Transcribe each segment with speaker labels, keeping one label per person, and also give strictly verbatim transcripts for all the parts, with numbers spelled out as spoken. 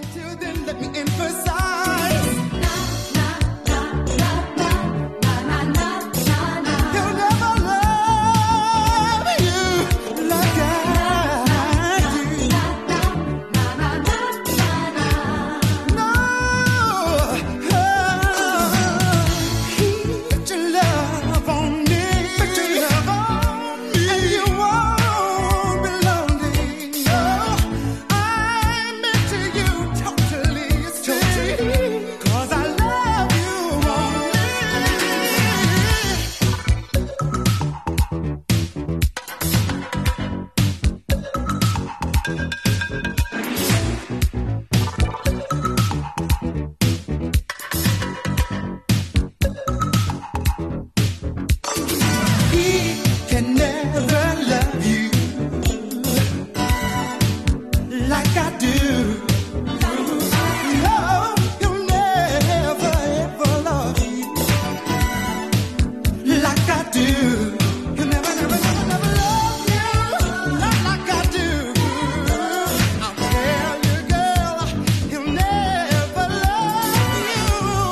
Speaker 1: Till then, let me emphasize. He'll never love you like I do. No, he put your love on me, put your love on me, and you won't be lonely. No, I'm into you totally, totally, 'cause I love you only. He can never love you like I do. No, he'll never ever love you like I do. He'll never, never, never, never love you not like I do. I'll tell you, girl, he'll never love you.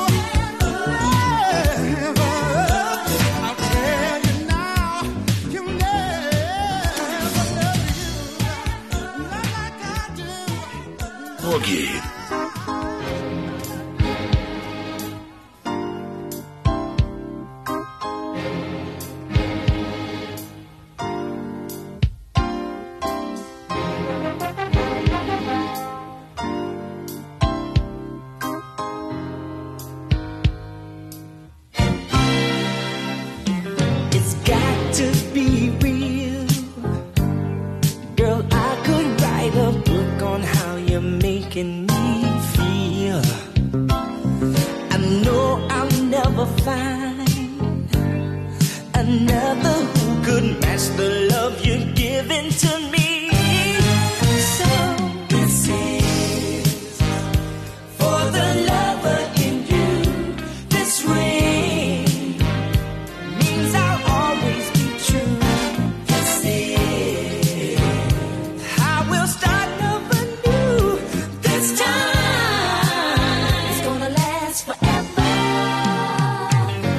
Speaker 1: Never. I'll tell you now, he'll never love you not like I do.
Speaker 2: Boogie.
Speaker 3: It's got to be real. Girl, I could write a book on how you're making me feel. I know I'll never find another who could match the love you're giving to me. So this is for the lover in you. This ring means I'll always be true. This is I will start over new. This time it's gonna last forever.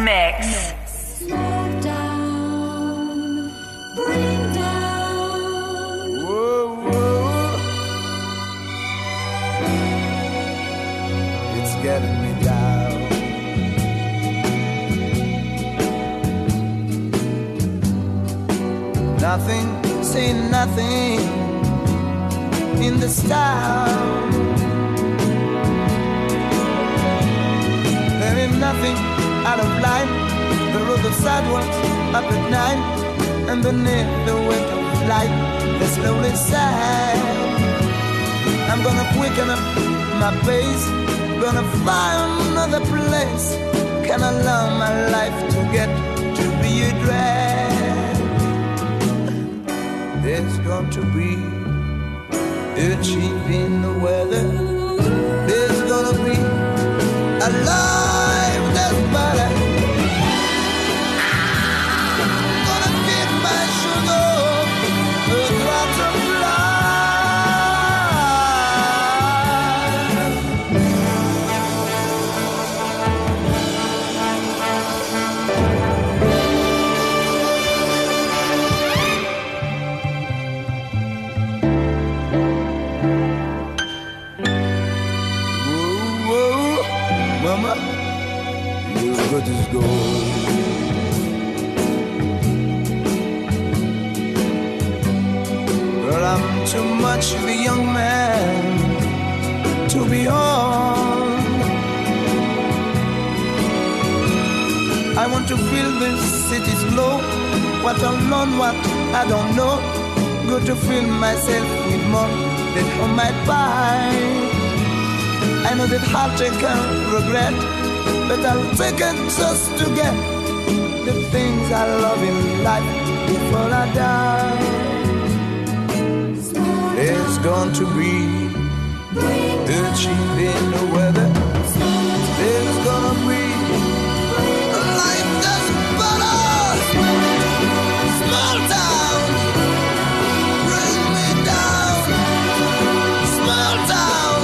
Speaker 4: Mix.
Speaker 5: Slow down, bring down.
Speaker 1: Whoa, whoa. It's getting me down. Nothing, say nothing in this town. There ain't nothing out of line. The road of sidewalks up at night, and beneath the weight of light, the slowly side. I'm gonna quicken up my pace, gonna find another place. Can allow my life to get to be a drag. There's going to be a change in the weather. There's gonna be a life that's better. Gonna get my sugar, a drop of Mama, you're good as gold. Girl, I'm too much of a young man to be on. I want to feel this city's glow. What alone, what I don't know. Good to feel myself with more than on my pie. I know that heartache can regret, but I'll take it just to get the things I love in life before I die. There's going to be a change in the weather. There's gonna be a life that's better. Small town, bring me down. Small town.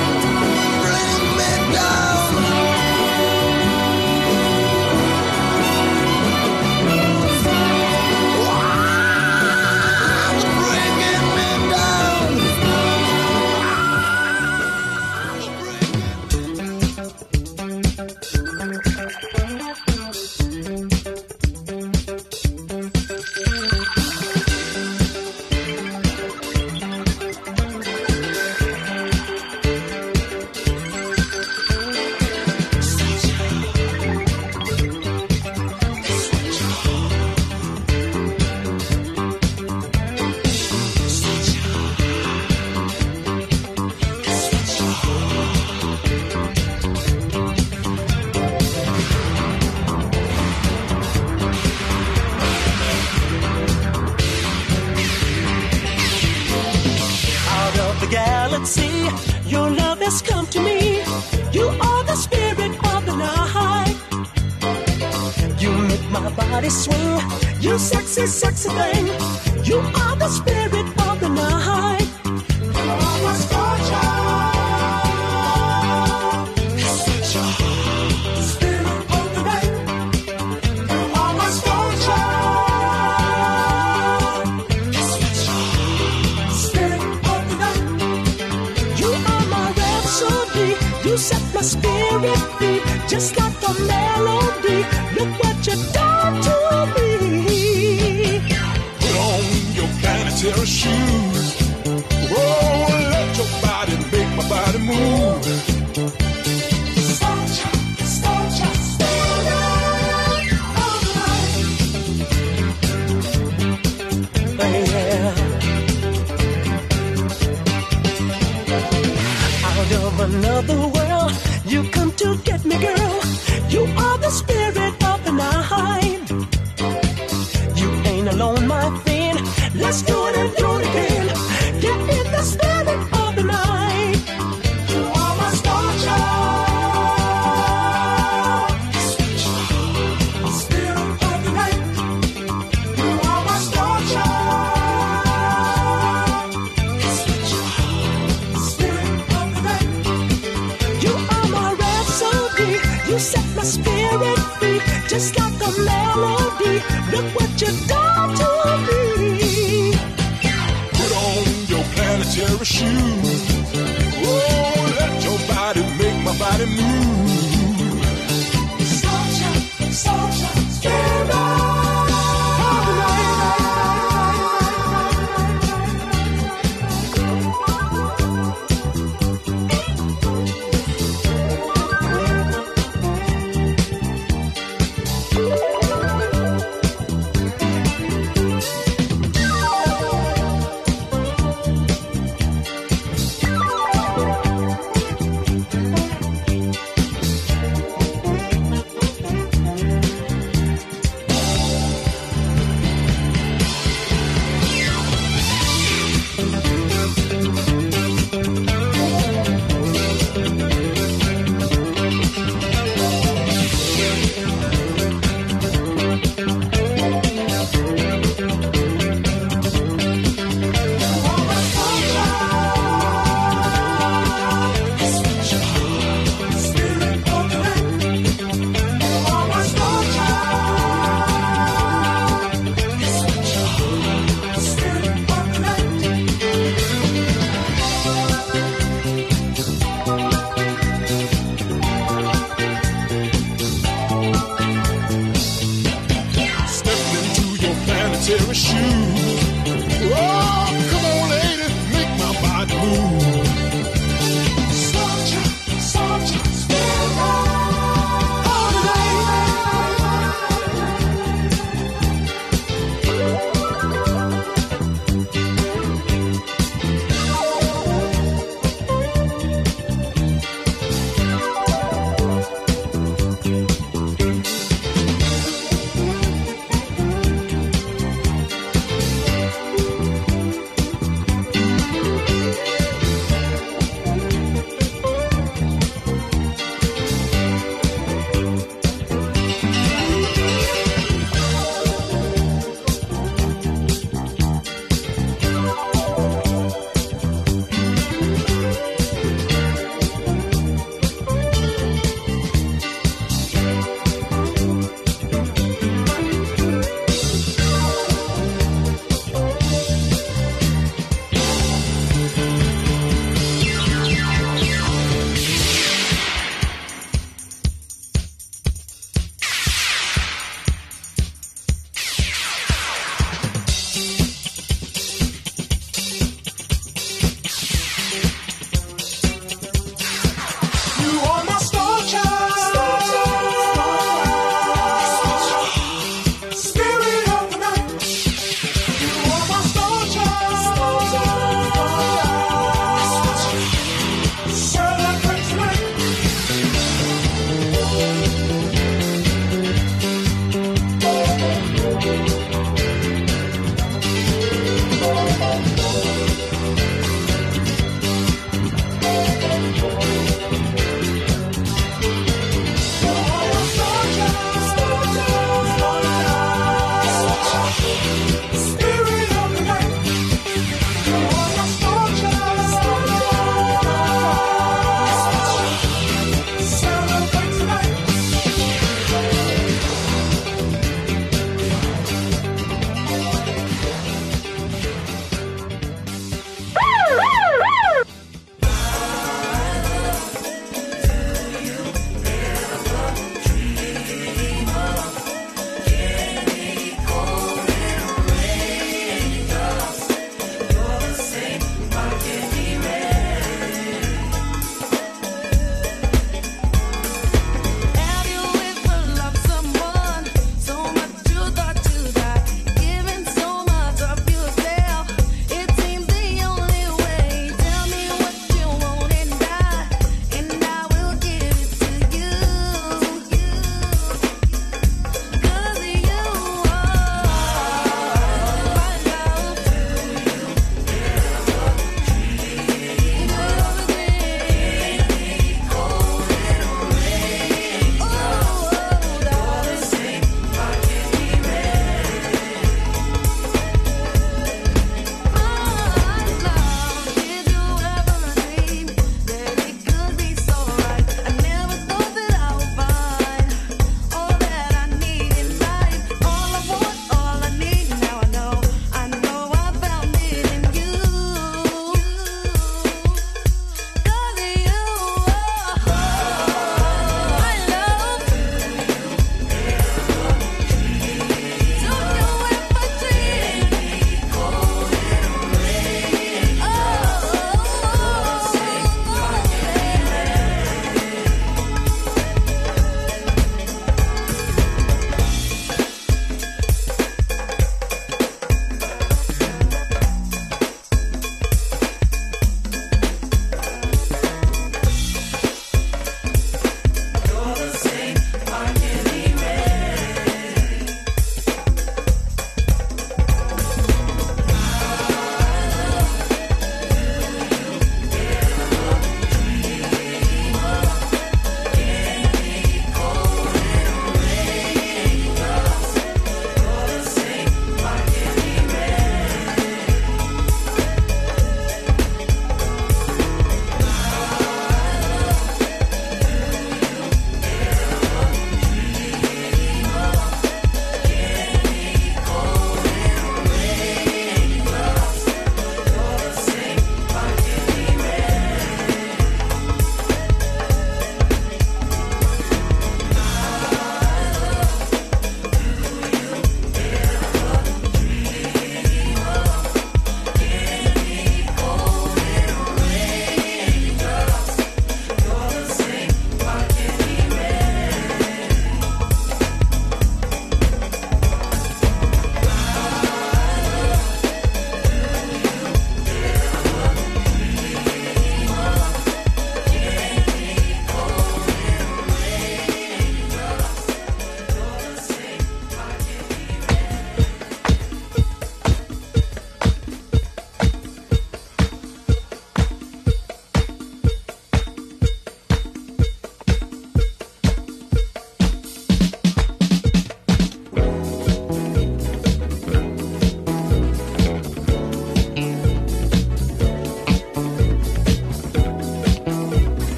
Speaker 3: Your love has come to me. You are the spirit of the night. You make my body swing. You sexy, sexy thing. You are the spirit of the night. You are my star child. Spirit of the night. You are my star child. Spirit of the night. You are my rhapsody. You set my spirit free, just like a melody. Look what you've done to me.
Speaker 2: Put on your planetary shoes. Oh, let your body make my body move.
Speaker 3: Starcha, starcha, spirit of life. Yeah. Out of another world, you come to get me, girl. You are the spirit of the night. You ain't alone, my friend. Let's do it and do it again. Get in the spirit of the night. You are my star child. Spirit of the night. You are my star child. Spirit of the night. You are my rhapsody. You set my spirit free,
Speaker 2: shoes. Oh, let your body make my body move.
Speaker 1: Soldier, soldier, stand up.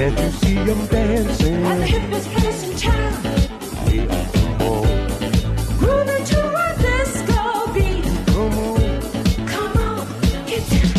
Speaker 3: Can't you see them dancing?
Speaker 5: At the hippest place in town.
Speaker 3: Yeah, come on.
Speaker 5: Grooving to a disco beat.
Speaker 3: Come on.
Speaker 5: Come on, get down.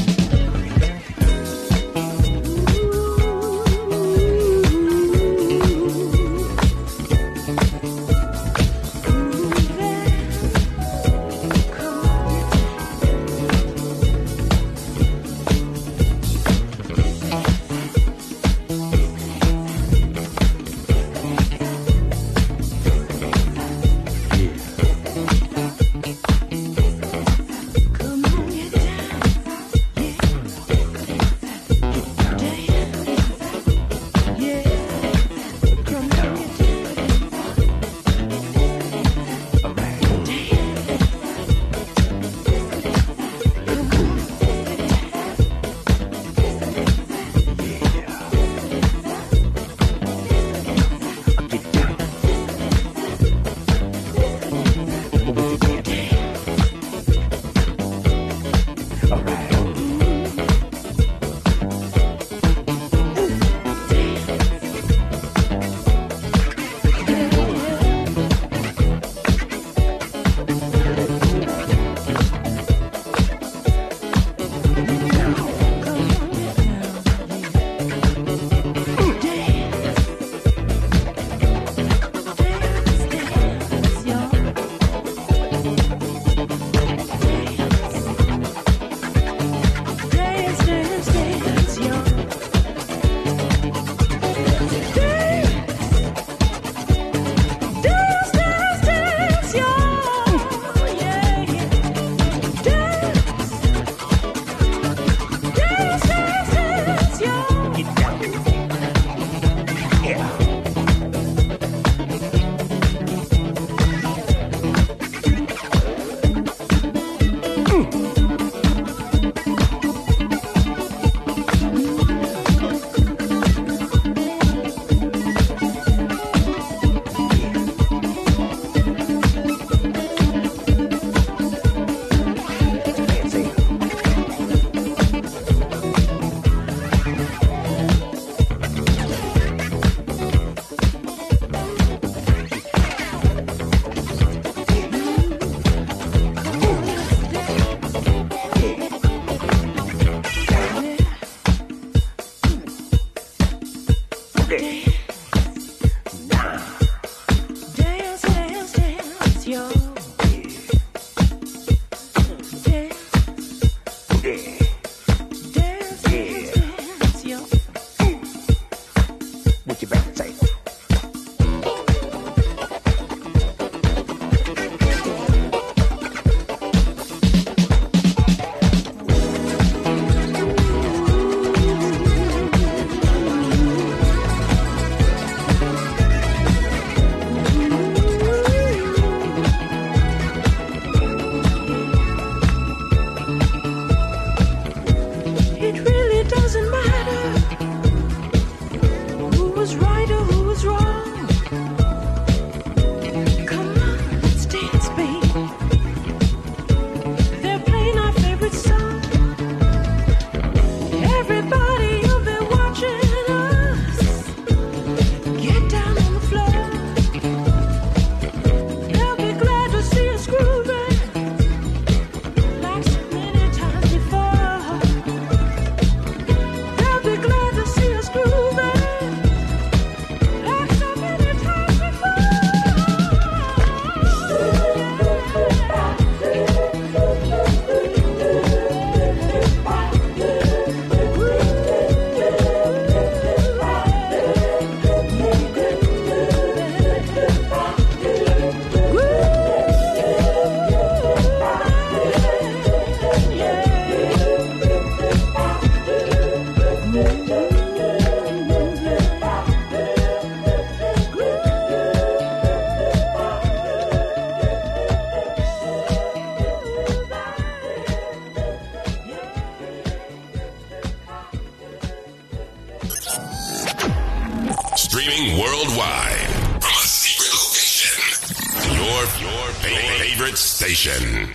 Speaker 4: Streaming worldwide from a secret location. Your, your favorite station.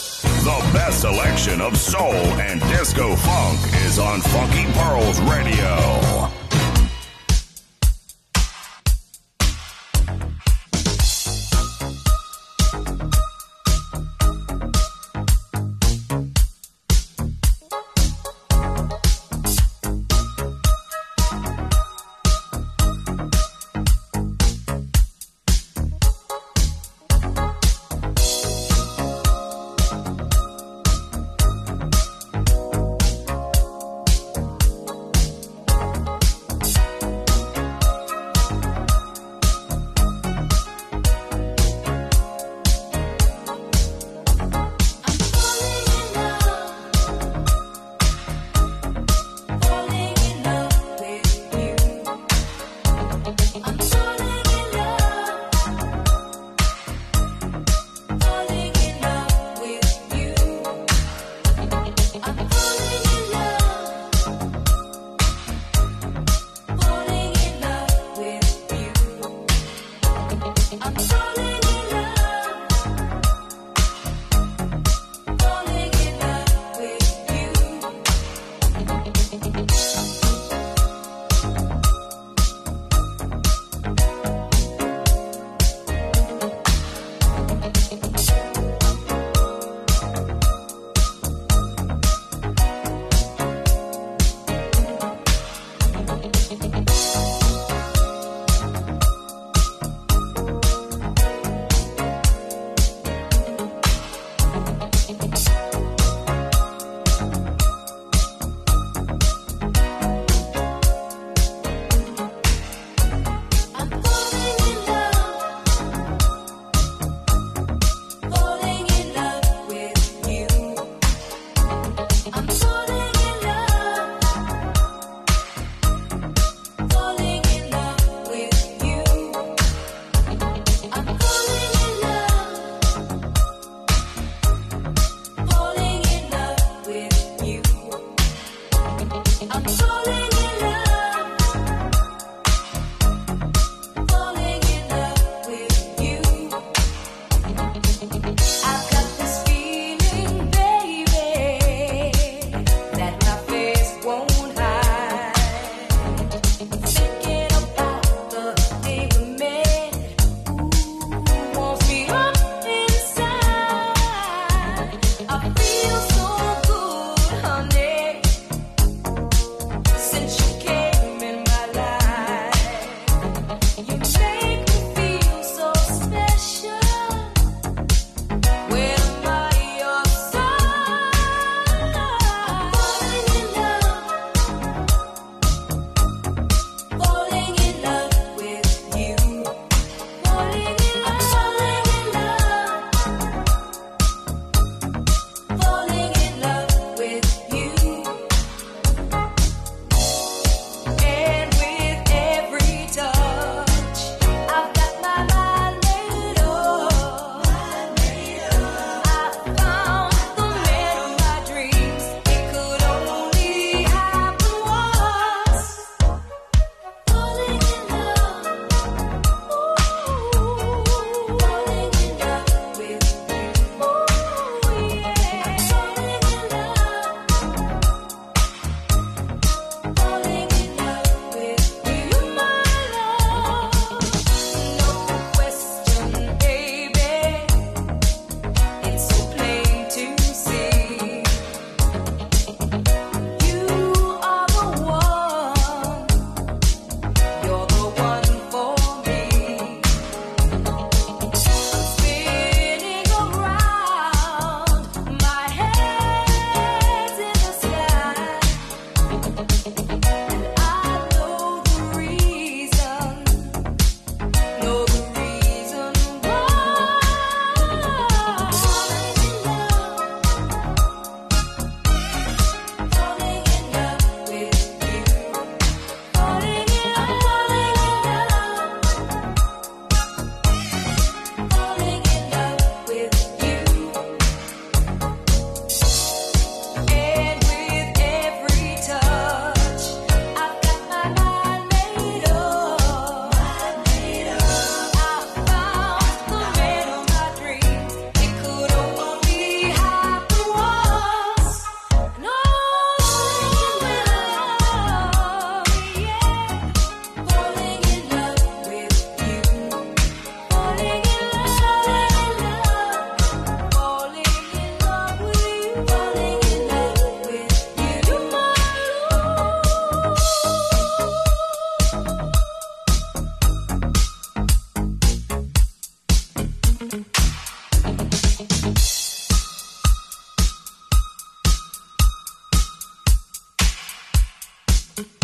Speaker 6: The best selection of soul and disco funk is on Funky Pearls Radio.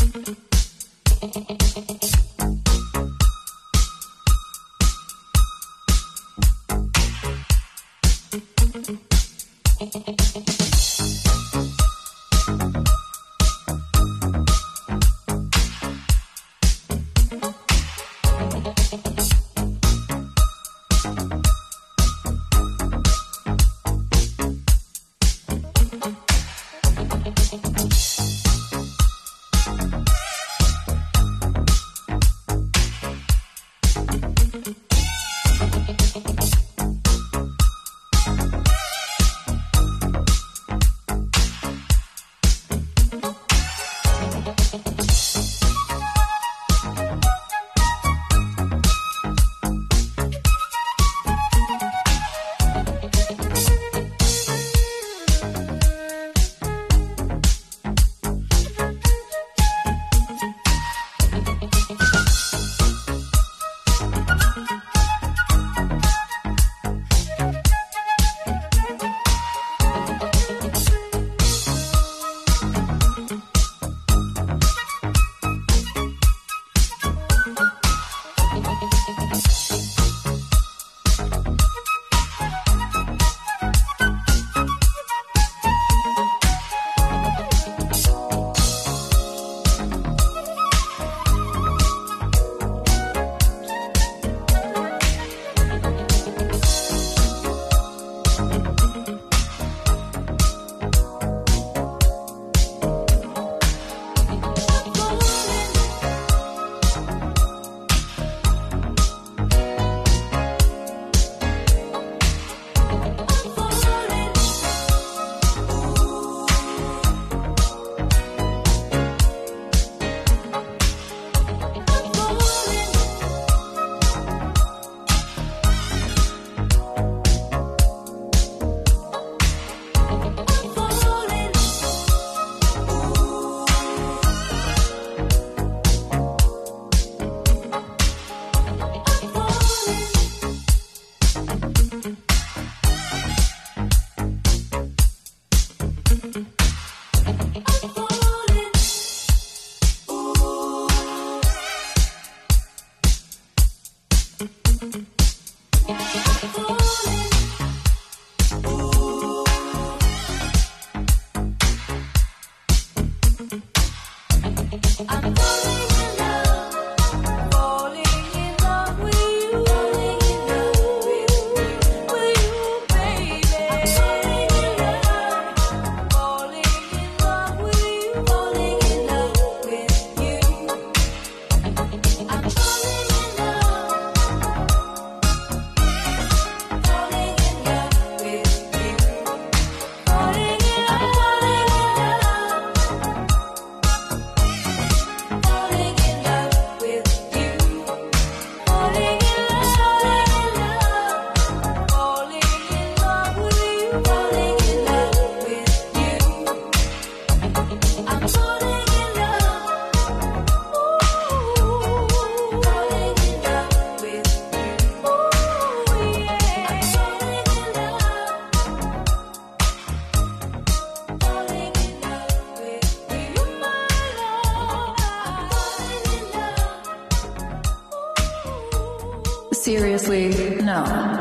Speaker 7: Seriously, no.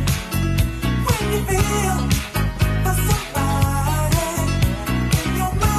Speaker 8: Feel for somebody in your mind.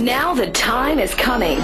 Speaker 7: Now the time is coming.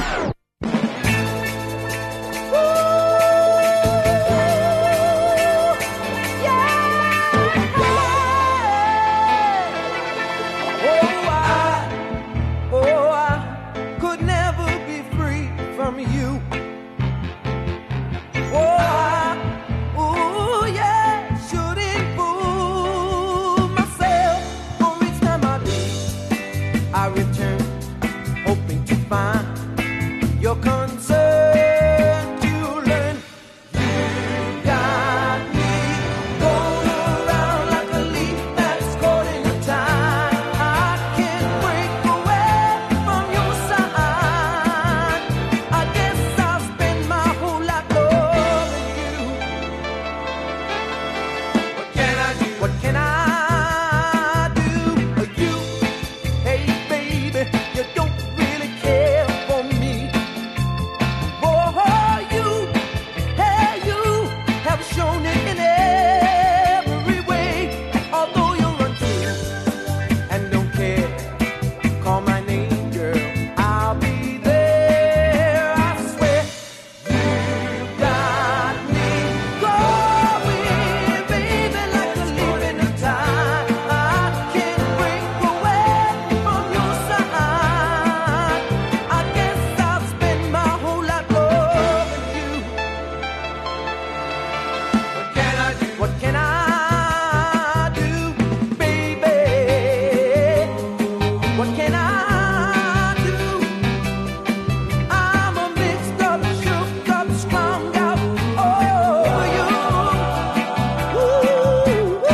Speaker 3: Your concern to learn. You got me going around like a leaf that's caught in a tide. I can't break away from your side. I guess I'll spend my whole life loving you. What can I do? What can I do? You, hey baby, you don't really care for me. Shown it in every way. Although you're untrue and don't care, call my name, girl, I'll be there. I swear you got me going, baby, like a leaf in the tide. I can't break away from your side. I guess I'll spend my whole life loving you. What can I do, baby? What can I do? I'm a mixed up, shook up, strung out over you. Ooh, ooh.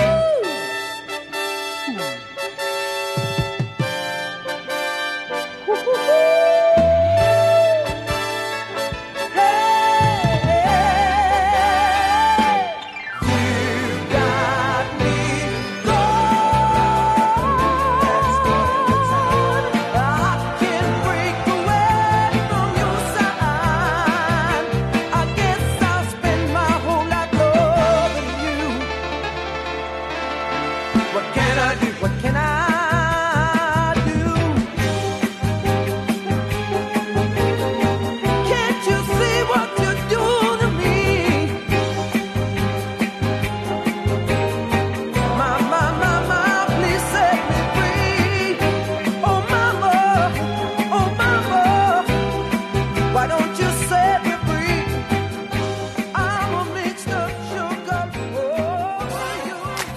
Speaker 3: What can I do? What can I do? Can't you see what you do to me? My, my, my, my, please set me free. Oh, mama, oh, mama, why don't you set me free? I'm a mixed up sugar over you.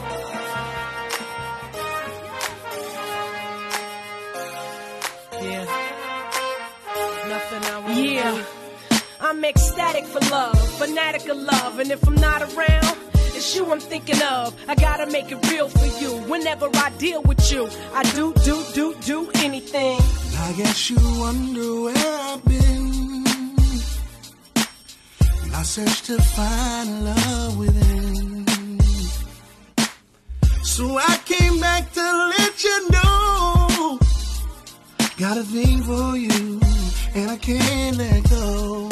Speaker 8: Yeah. Nothing I want. Yeah. I'm ecstatic for love, fanatic of love, and if I'm not around, it's you I'm thinking of. I gotta make it real for you. Whenever I deal with you, I do, do, do, do anything.
Speaker 1: I guess you wonder where I've been. I searched to find love within. So I came back to let you know. Got a thing for you, and I can't let go.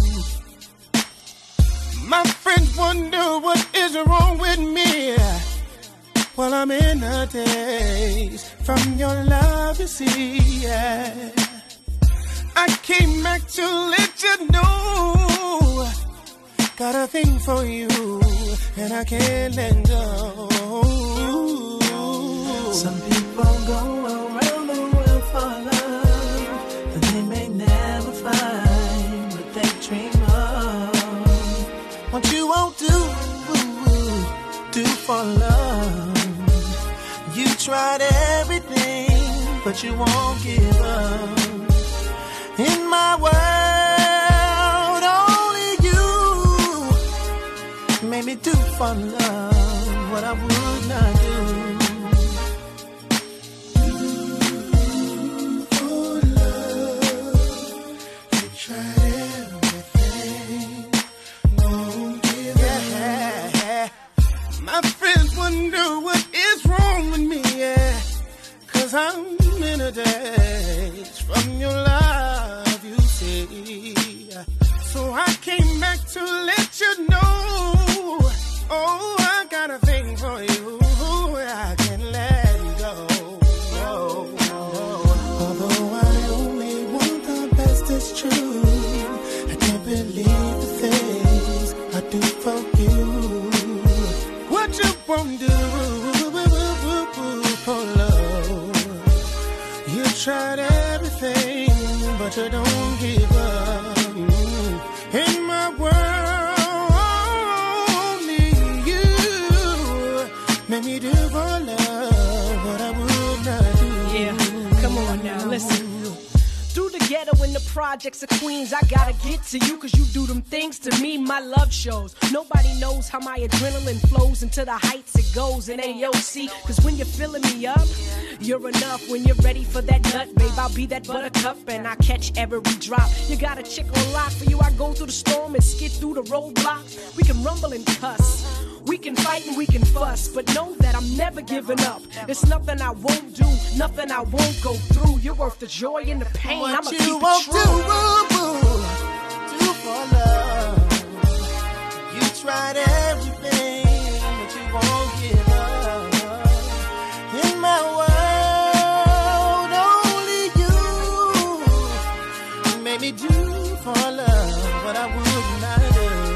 Speaker 1: My friends wonder what is wrong with me. Well, I'm in a daze from your love, you see. Yeah. I came back to let you know. Got a thing for you, and I can't let go.
Speaker 3: Some people go around the world for love that they may never find, but they dream of.
Speaker 1: What you won't do, do for love. You tried everything, but you won't give up. In my world, only you made me do for love what I would not do. For love, you tried everything, won't give up. My friends wonder what is wrong with me, yeah. Cause I'm in a daze from your love, you see. So I came back to let you know. Oh, I got a thing for you. I can't let you go. Oh, oh. Although I only tried everything, but you don't give up. In my world, only you made me do for love what I would not do.
Speaker 8: Yeah, come on now, listen. Through the ghetto and the projects of Queens, I gotta get to you, cause you do them things to me, my love shows. Nobody knows how my adrenaline flows into the heights it goes in A O C. Cause when you're filling me up, you're enough. When you're ready for that nut, babe, I'll be that buttercup and I catch every drop. You got a chick on lock for you, I go through the storm and skid through the roadblocks. We can rumble and cuss, we can fight and we can fuss, but know that I'm never giving up. It's nothing I won't do, nothing I won't go through. You're worth the joy and the pain.
Speaker 1: What
Speaker 8: I'ma
Speaker 1: you
Speaker 8: keep
Speaker 1: won't
Speaker 8: it
Speaker 1: do,
Speaker 8: true.
Speaker 1: boo, boo, do for love. You tried everything, but you won't give up. In my world, only you made me do for love what I would not do.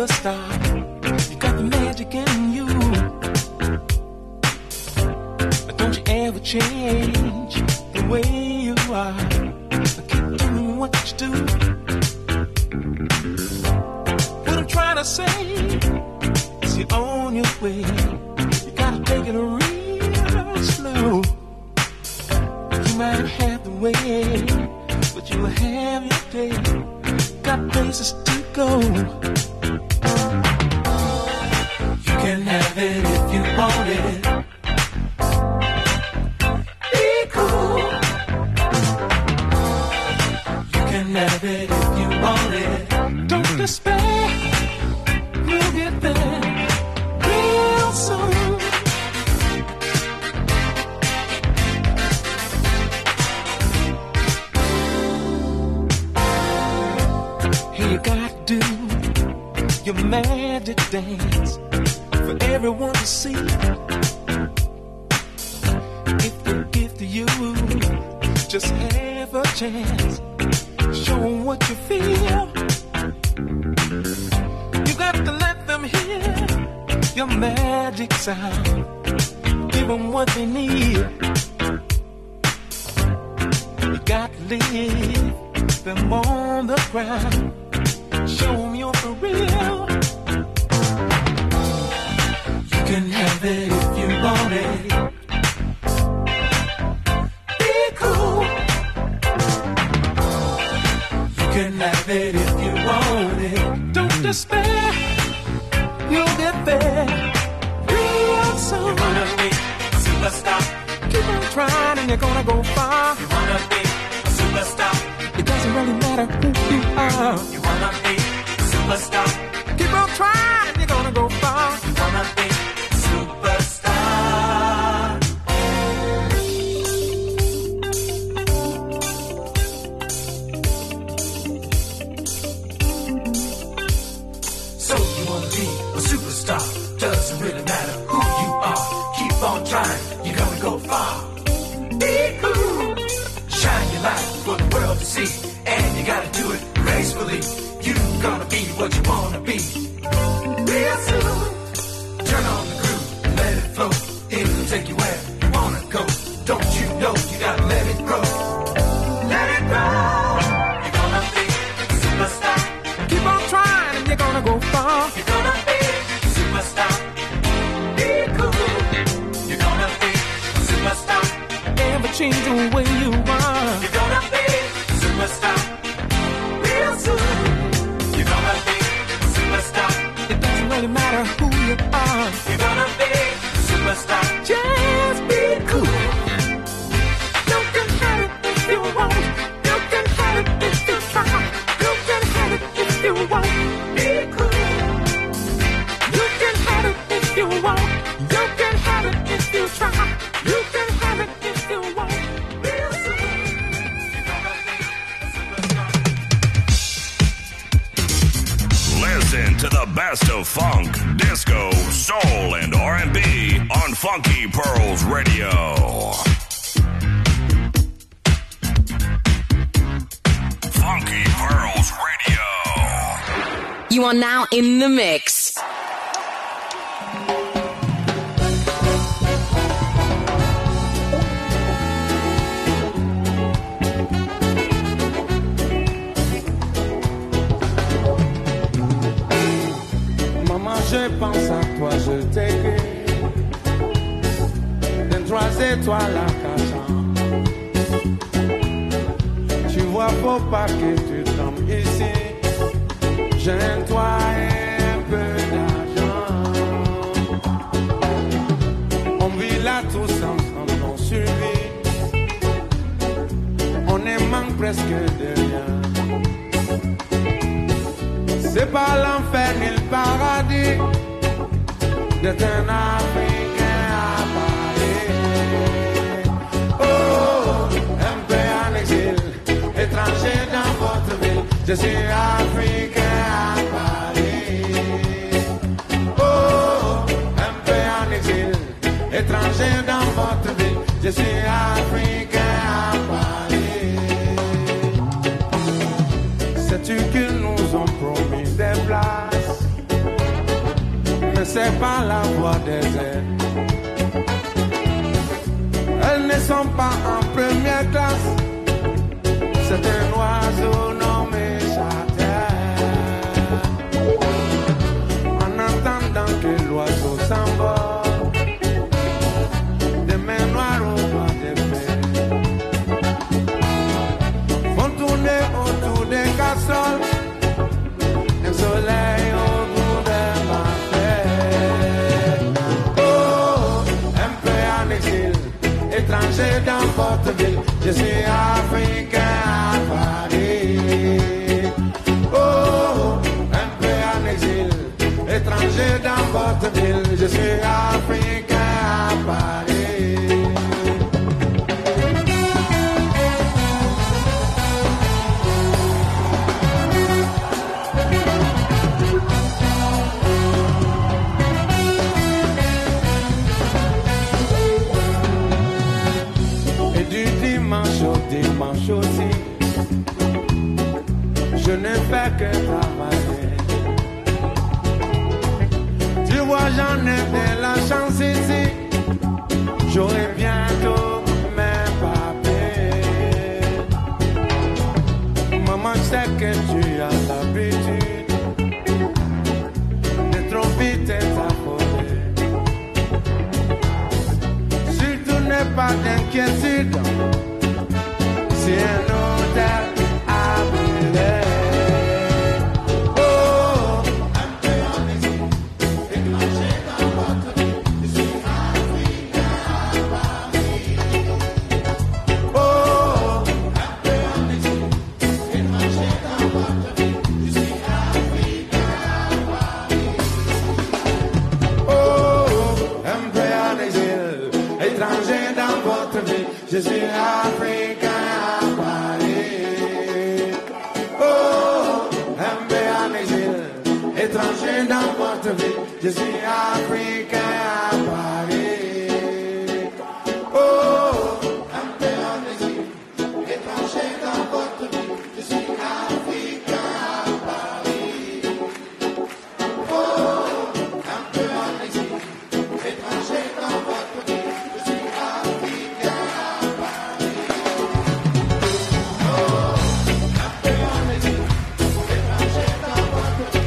Speaker 3: superstar. You got the magic in you. But don't you ever change the way you are. Keep doing what you do. What I'm trying to say is you're on your way. You gotta take it real slow. You might have the way, but you'll have your day. Got places to go. You can have it if you want it. Be cool. You can have it if you want it. Don't despair. You'll get there real soon. You gotta do your magic dance for everyone to see. If they give to you, just have a chance. Show them what you feel. You got to let them hear your magic sound. Give them what they need. You got to leave them on the ground. Show them you're for real. You can have it if you want it. Be cool. You can have it if you want it. Don't despair. You'll get there real soon. You wanna be a superstar. Keep on trying and you're gonna go far. You wanna be a superstar. It doesn't really matter who you are. You wanna be a superstar. Keep on trying and you're gonna go far. You wanna be a superstar. So you wanna be a superstar. Doesn't really matter who you are. Keep on trying, you're gonna go far. Be cool. Shine your light for the world to see. And you gotta do it gracefully. You gonna be what you wanna be. Real soon. Turn on the groove, let it flow. It'll take you where you wanna go. Don't you know you gotta let it grow. Let it grow. You're gonna be a superstar. Keep on trying and you're gonna go far. You're gonna be a superstar. Be cool. You're gonna be a superstar. Never change the way you are. You're gonna be a superstar. Real soon. You're gonna be a superstar. It doesn't really matter who you are. You're gonna be a superstar. Just be cool. You can have it if you want. You can have it if you try. You can have it if you want. Be cool. You can have it if you want. You can have it if you try. You can have it if you want. Real soon. You're gonna be a superstar.
Speaker 6: Listen to the best of funk, disco, soul, and R and B on Funky Pearls Radio. Funky Pearls Radio.
Speaker 7: You are now in the mix.
Speaker 9: Je pense à toi, je t'écris des trois étoiles à cachant. Tu vois, faut pas que tu tombes ici. J'ai un toit et un peu d'argent. On vit là tous ensemble, on survit. On ne manque presque de rien. C'est pas l'enfer ni le paradis d'être un Africain à Paris. Oh, un peu en exil, étranger dans votre ville. Je suis Africain à Paris. Oh, un peu en exil, étranger dans votre ville. Je suis Africain à Paris. Sais-tu qu'ils nous ont promis des places c'est pas la voix des airs. Elles ne sont pas en première classe. C'est un oiseau nommé chater. En attendant que l'oiseau s'envole, des mains noires au doigt des fers font tourner autour des casseroles un soleil au bout de ma tête. Oh, un peu en exil, étranger dans votre ville, je suis africain à Paris. Oh, un peu en exil, étranger dans votre ville, je suis africain à Paris. Dimanche aussi, je ne fais que travailler. Tu vois, j'en ai de la chance ici. J'aurai bientôt mes papiers. Maman, je sais que tu as l'habitude de trop vite t'affoler. Surtout n'aie pas d'inquiétude. C'est un hôtel à brûler. Oh, un peu en exil, étranger dans votre ville, je suis africain à Paris. Oh, un peu en exil, étranger dans votre ville, je suis africain à Paris. Oh, un peu en exil, étranger dans votre ville, je suis africain. Étranger dans votre vie, je suis africain à Paris. Oh, un peu en exil, étranger dans votre vie, je suis africain à Paris. Oh, un peu en exil, étranger dans votre vie, je suis africain à Paris. Oh, un peu en exil, étranger dans votre vie.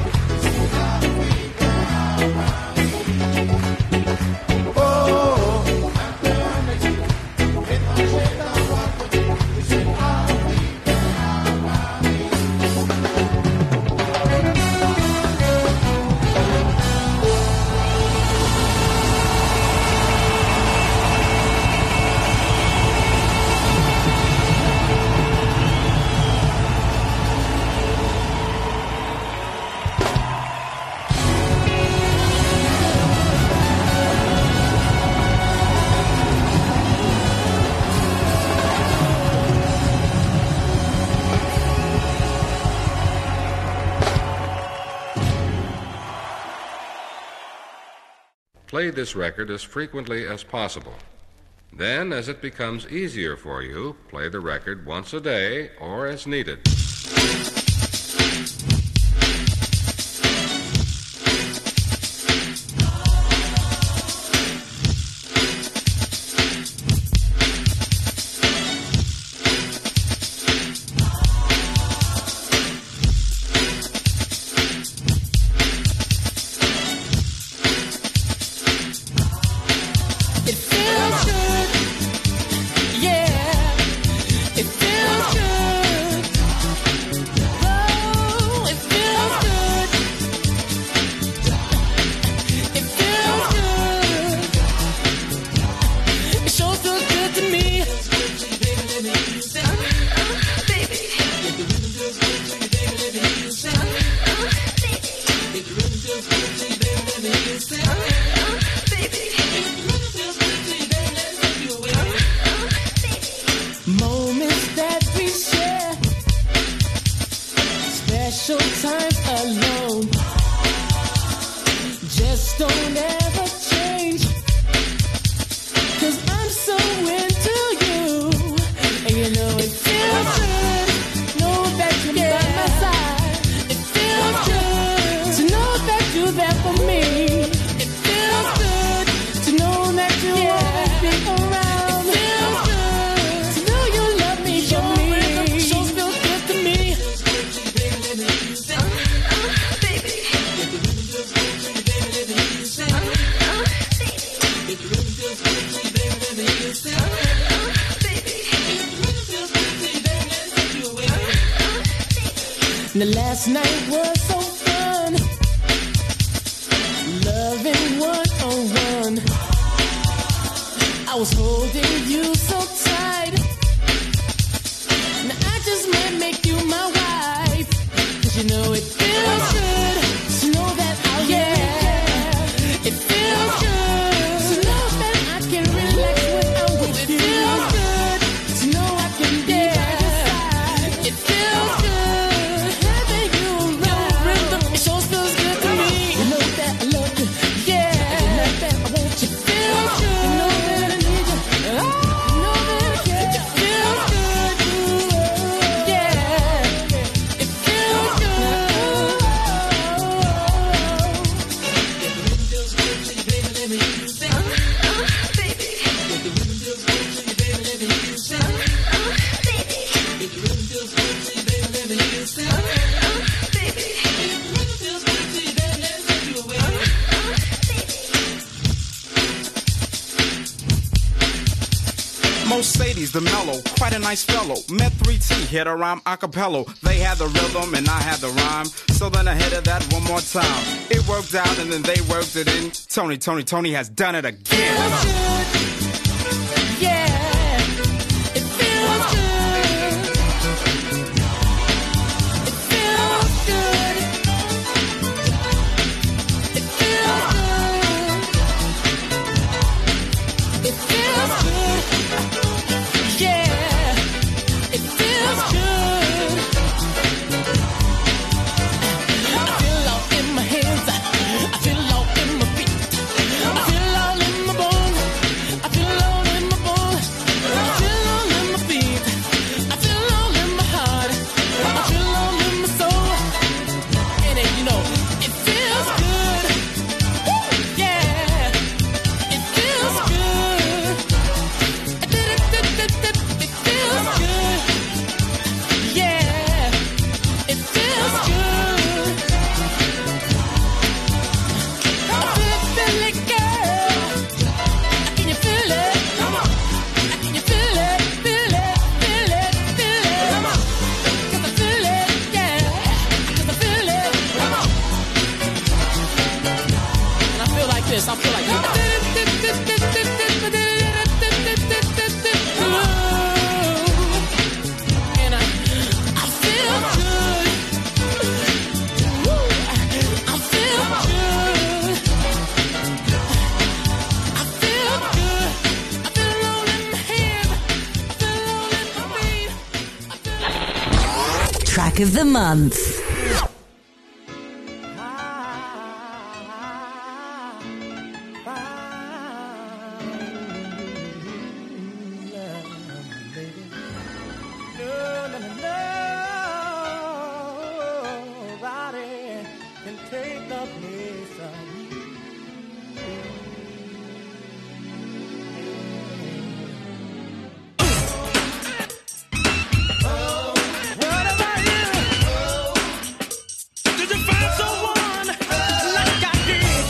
Speaker 10: Play this record as frequently as possible. Then, as it becomes easier for you, play the record once a day or as needed.
Speaker 8: Now last night was so fun, loving one on one. I was holding you so tight. Now I just might make you my wife, 'cause you know it feels good to know that I'll yeah. It feels good to know that I can relax when I'm with you. It feels good to know I can yeah. It feels good having you around. It sure feels good to me. You know that I love you, yeah. You know that I want you. Feels good. You know that I need you. Oh, you know that I care. It feels good, yeah. It feels good. Let me use it. Uh, uh, baby. If the rhythm feels good to you, baby, let me use it. Uh, uh, baby. If the rhythm feels good to you, baby, let me use it. Uh, uh, baby. If the rhythm feels good to you, baby, let me take you away. Uh, uh,
Speaker 11: Mercedes, the mellow, quite a nice fellow. Met three T, hit a rhyme a cappella. They had the rhythm and I had the rhyme. So then I hit it that one more time. It worked out and then they worked it in. Tony, Tony, Tony has done it again.
Speaker 8: Yeah, it feels good. It feels good. It feels good. It feels good. Yeah, it feels good. I feel all in my hands. I feel all in my feet. I feel all in my bones. I feel all in my bones. I feel all in my feet. I feel all in my heart. I feel all in my soul. And it, you know, it feels good. Woo! Yeah, it feels good. It feels good. Yeah, it feels good. I feel it, feel it, girl. Can you feel it? Come on. Can you feel it? Feel it, feel it, feel it. Come on. 'Cause I feel it, yeah. 'Cause I feel it. Come on. And I feel like this. I feel like this. And I, I feel good. Woo. I feel good. I feel good. I feel all in my head. I feel all in my feet.
Speaker 7: Track of the month.
Speaker 3: Nobody can take the place of you. What about you? Did you find someone like I did?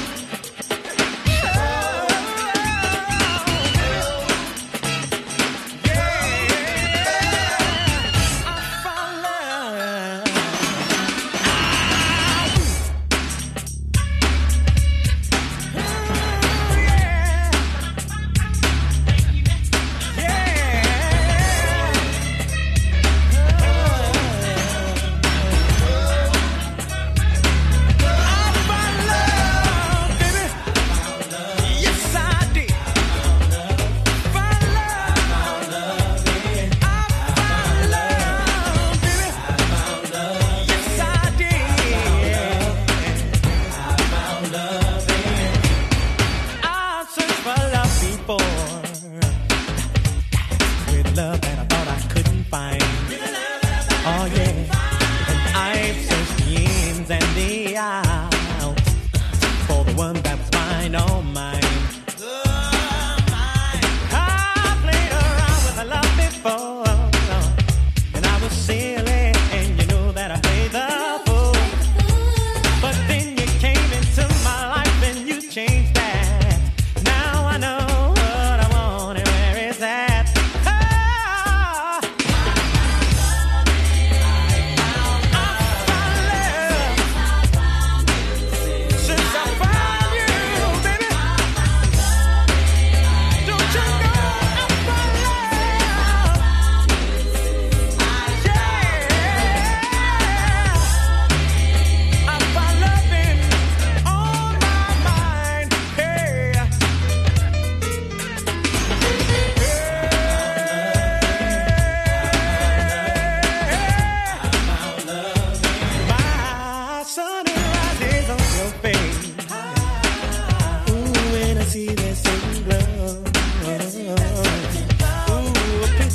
Speaker 3: Yeah, I found love.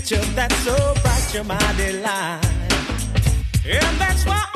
Speaker 3: future that's so bright, you're my delight. And that's why